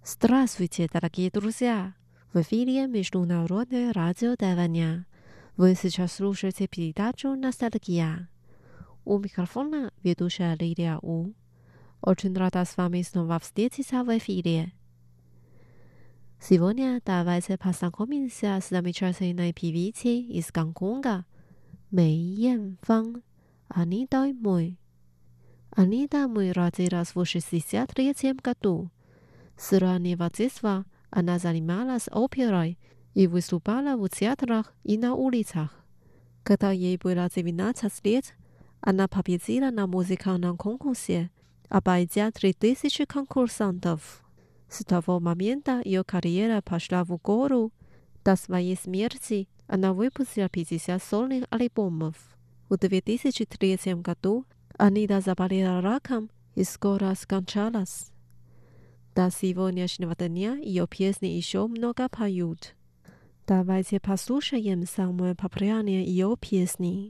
Здравствуйте, дорогие друзья! В эфире Международное радио Тайваня. Вы сейчас слушаете передачу «Ностальгия». У микрофона ведущая Лилия У. Очень рада с вами снова встретиться в эфире. Сегодня давайте познакомимся с замечательной певицей из Гонконга Мэй Янфан, Анитой Мой. Анита Мой родилась в 1963 году. С раннего детства она занималась оперой и выступала в театрах и на улицах. Когда ей было 19 лет, она победила на музыкальном конкурсе, обойдя 3000 конкурсантов. С того момента ее карьера пошла в гору. До своей смерти она выпустила 50 сольных альбомов. В 2003 году Анита заболела раком и скоро скончалась. До сегодняшнего дня ее песни еще много поют. Давайте послушаем самые популярные ее песни.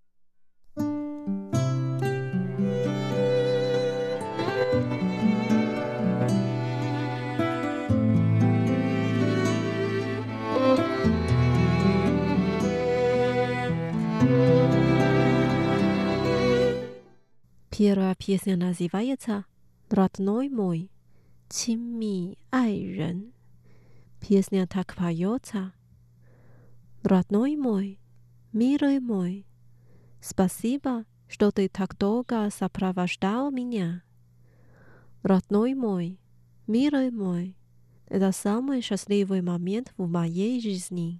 Первая песня называется «Родной мой, 亲密爱人». Песня так поется: Родной мой, милый мой, спасибо, что ты так долго сопровождал меня. Родной мой, милый мой, это самый счастливый момент в моей жизни.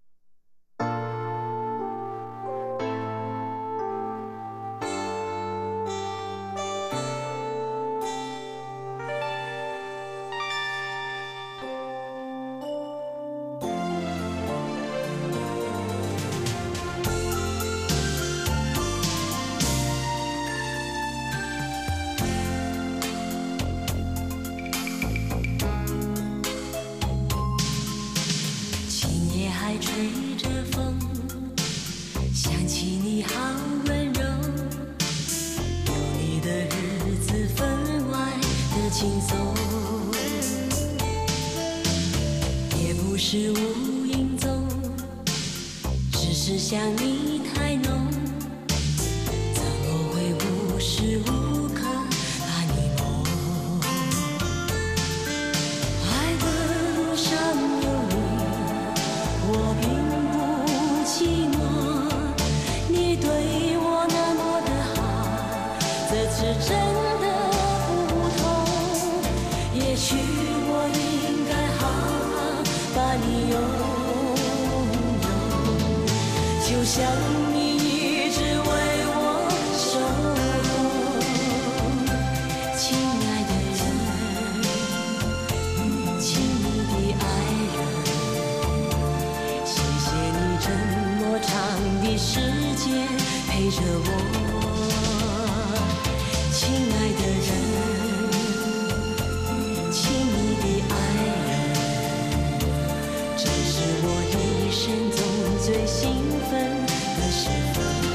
吹着风，想起你好温柔，有你的日子分外的轻松，也不是无影踪，只是想你太浓，怎么会无时无刻把你梦？爱的路上有你，我并不寂寞，你对我那么的好，这次真的不同。也许我应该好好把你拥有，就像你一直为我守候。亲爱的人，亲密的爱人，谢谢你这么长的时间陪着我。亲爱的人，亲密的爱人，这是我一生中最兴奋的时分。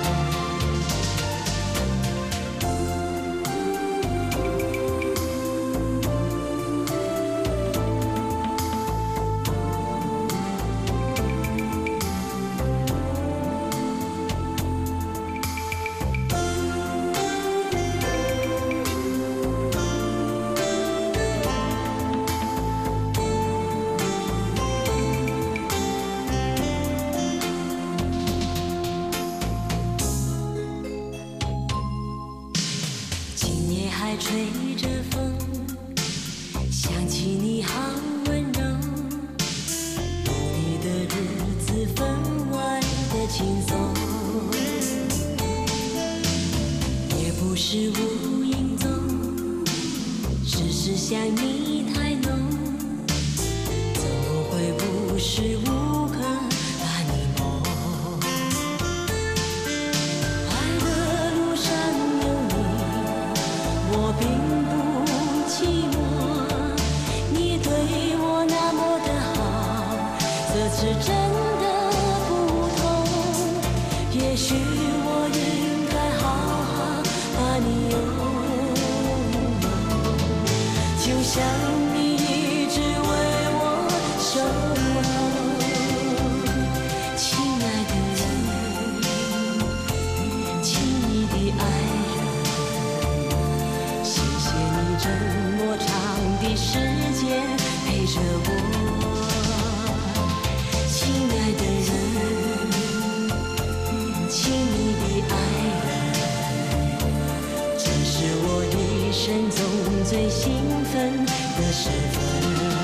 今夜还吹着风，想起你好温柔，有你的日子分外的轻松，也不是无影踪，只是想你太浓，怎么会无时无刻把你梦？爱的路上有你，我并不寂寞，你对我那么的好，这次真的不同。也许我应该好好把你拥有，就像你亲密的爱人，谢谢你这么长的时间陪着我，亲爱的人，亲密的爱人，这是我一生中最兴奋的时分。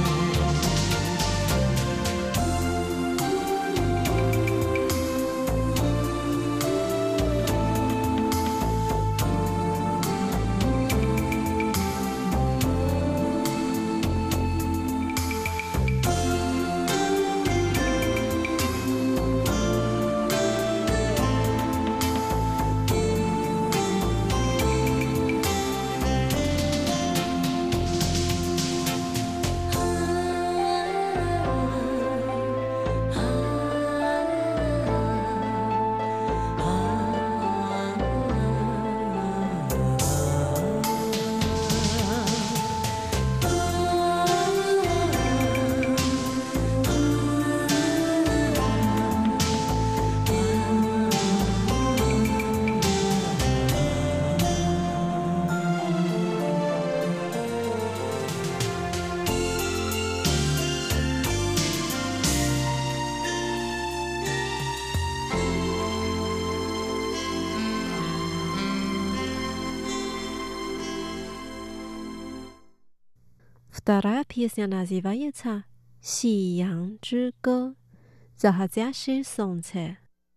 Вторая песня называется «Си Ян之歌» «Заходящее солнце».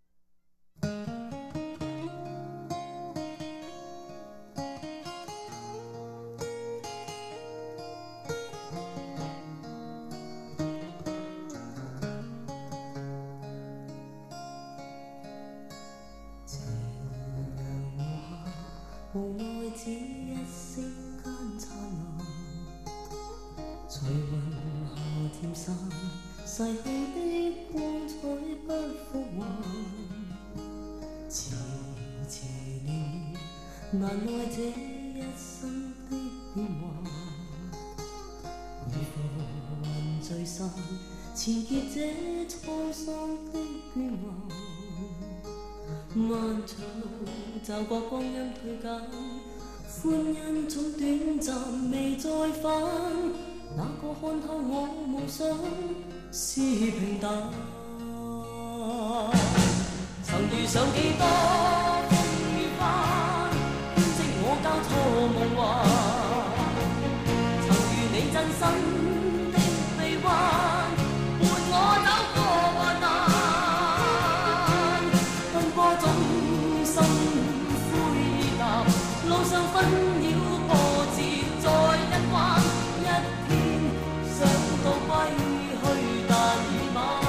就過光陰退減，歡欣總短暫未再返。那個看透我夢想是平淡，曾遇上幾多風雨翻，編織我交錯夢幻。曾遇你真心的臂彎，伴我走過患難，奔波中心。路上紛擾波折再一彎，一天想到歸去，但已晚。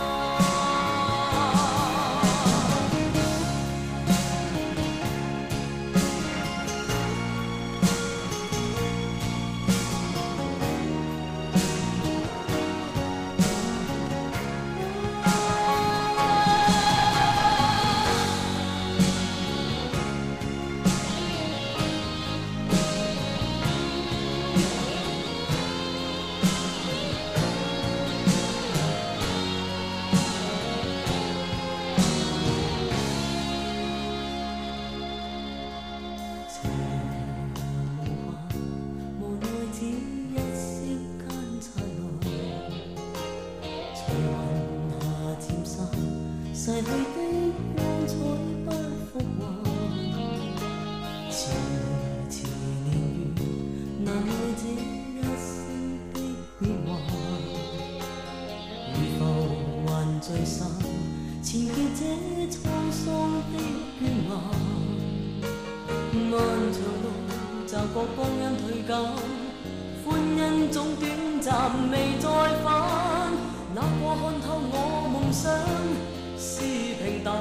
逝去的光彩不復還，遲遲年月難耐這一生的變幻，如浮還聚散，纏結這滄桑的倦顏。漫長路驟覺光陰退減，歡欣總短暫未再返，那個看透我夢想是平淡，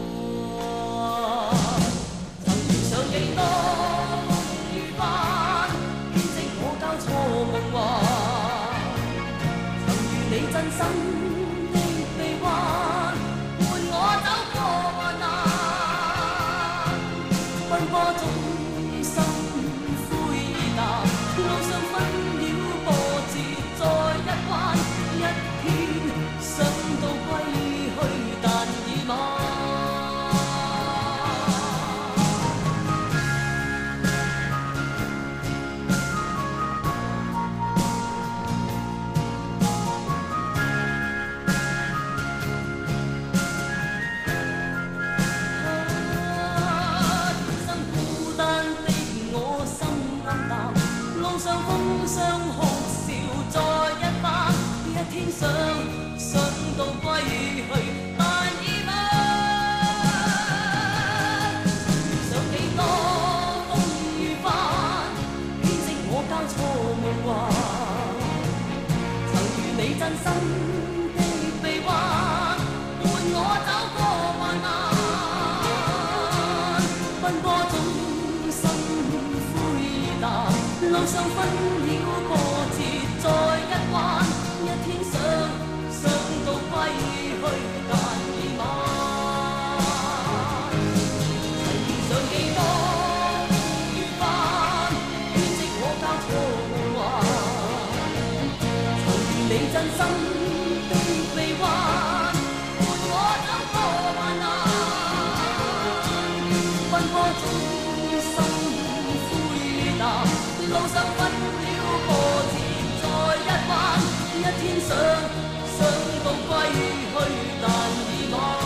曾遇上幾多風雨翻，編織我交錯夢幻。曾遇你真心的臂彎，伴我走過患難，奔波中心灰意淡，路上紛擾波折再一彎，一天想到歸去。但已晚。 想到歸去，但已晚。想幾多風雨翻，編織我交錯夢幻。曾與你真心的臂彎，伴我走過患難。奔波中心灰淡，路上分了波折再一彎。一天想到歸去，但已晚。曾遇上幾多風雨翻，編織我交錯夢幻。曾與你真心的臂彎，伴我走過患難。奔波中心灰淡，路上分了波折再一彎。一天想到歸去，但已晚。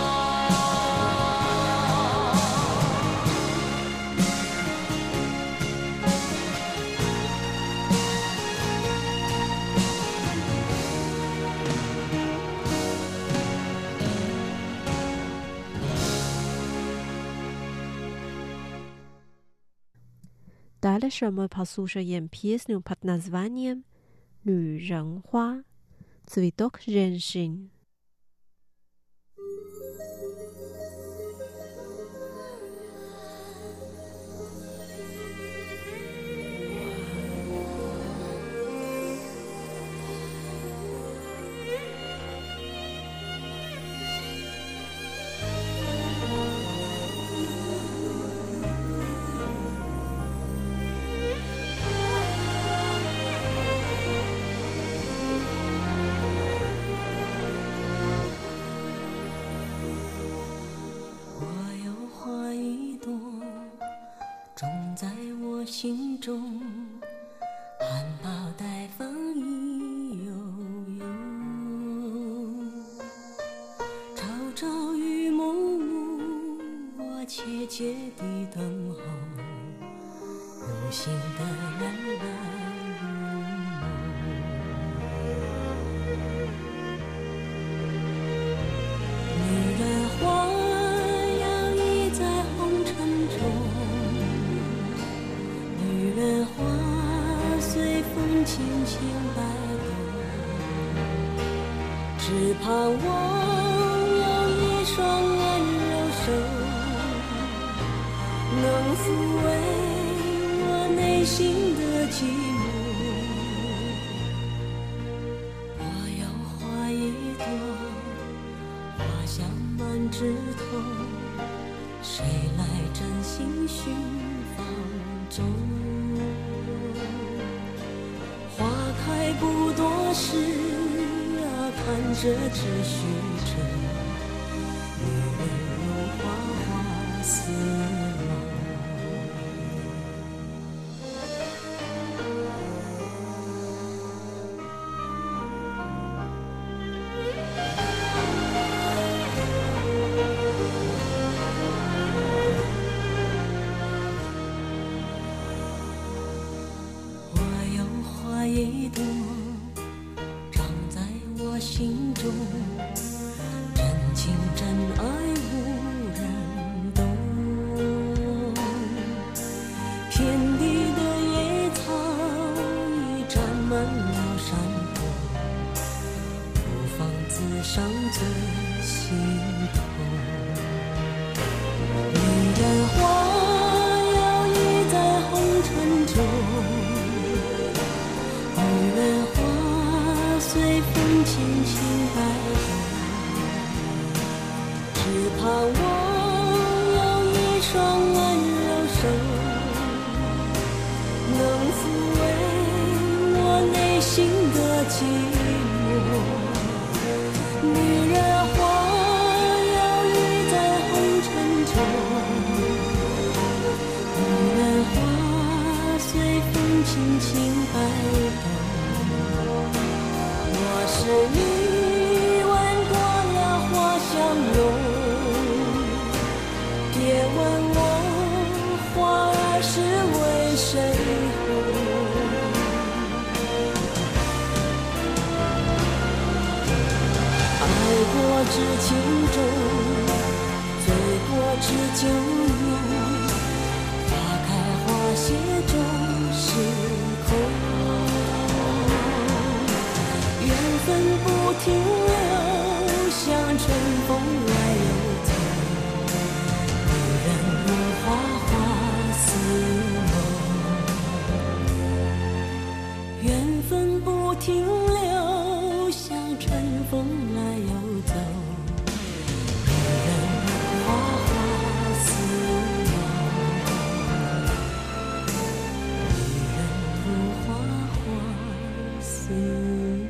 Дальше мы послушаем песню под названием «女人花» «Цветок женщин». 心中含苞待放意悠悠，朝朝与暮暮，我切切地等候，有心的人来入梦。女人花摇曳在红尘中，女人花随风轻轻摆动，只盼望有一双温柔手，能抚慰我内心的寂寞。我要花一朵，花香满枝头，谁来真心寻芳踪？花开不多时啊，看着只须着，女人如花花似梦。一朵长在我心中，真情真爱无人懂。遍地的野草已占满了山坡，不妨自赏最心痛。女人花摇曳在红尘中，女人花随风轻轻摆动，只盼望有一双温柔手，能抚慰我内心的寂寞。女人花摇曳在红尘中，女人花随风轻轻摆动。我是你闻过了花香浓，别问我花儿是为谁红。 我知情重，醉过知酒浓，花开花谢终是空。缘分不停留，像春风来又走，无人如花花似梦。缘分不停留，像春风来又走，无人如花花似梦，无人如花花似梦。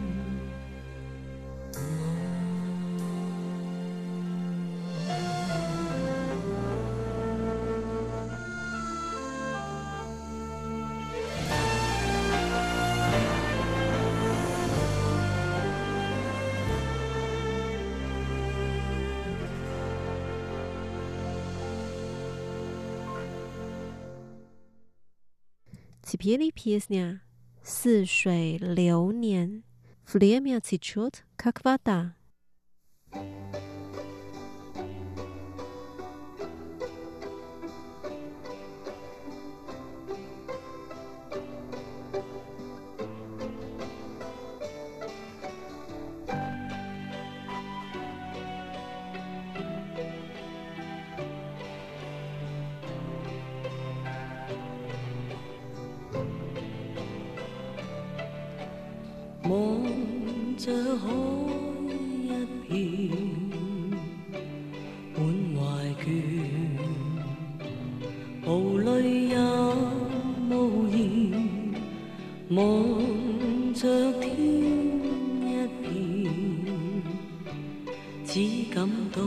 Теперь песня «似水流年» Время течет, как вода. 望着海一片，滿懷倦，無淚也無言，望着天一片，只感到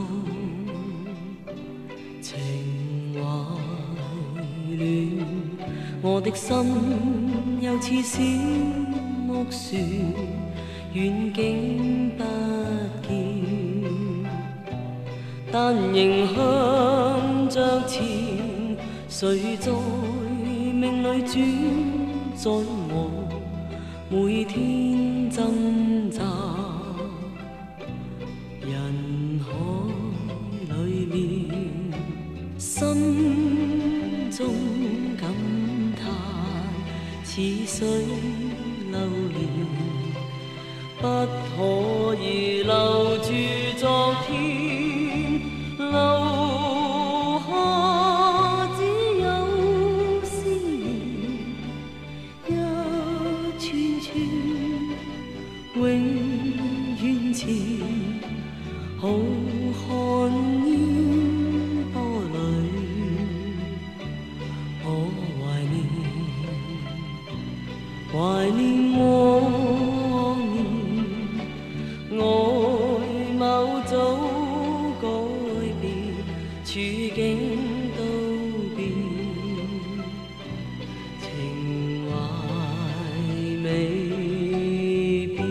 情懷亂，我的心又似小木船，遠景不見，但仍向着前。誰在命裏轉，在我每天掙扎人海裏面，心中感嘆似水流年，不可以留住昨天，留下只有思念，一串串永遠前，浩瀚煙波裏，我懷念往年，外貌早改變，處境都變，情懷未變。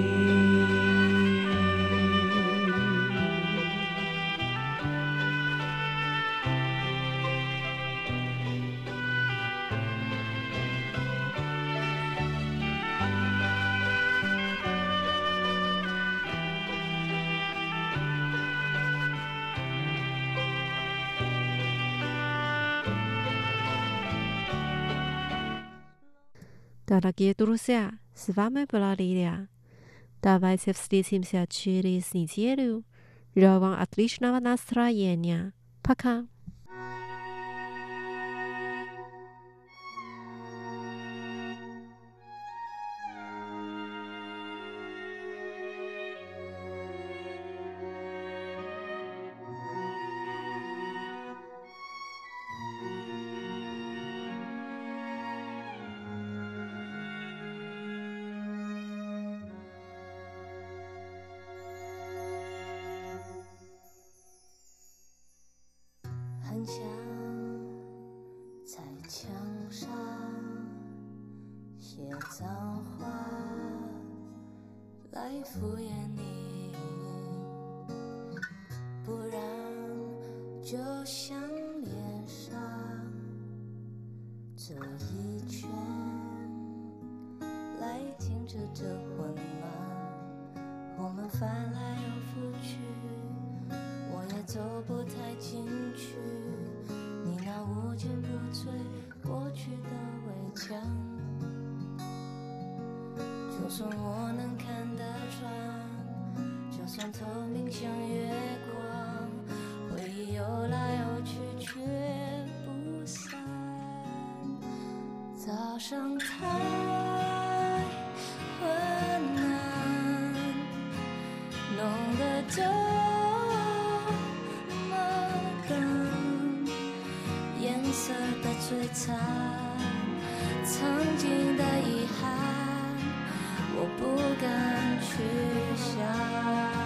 Дорогие друзья, с вами была Лилия. Давайте встретимся через неделю. Желаю вам отличного настроения. Пока. 很想在墙上写脏话来敷衍你，不然就像脸上这一圈来停止这混乱。 我们翻来又覆去，我也走不太进去，你那无坚不摧过去的围墙。就算我能看得穿，就算透明像月光，回忆游来游去却不散。早上太昏暗，弄得这么冷，颜色的摧残，曾经的遗憾，我不敢去想。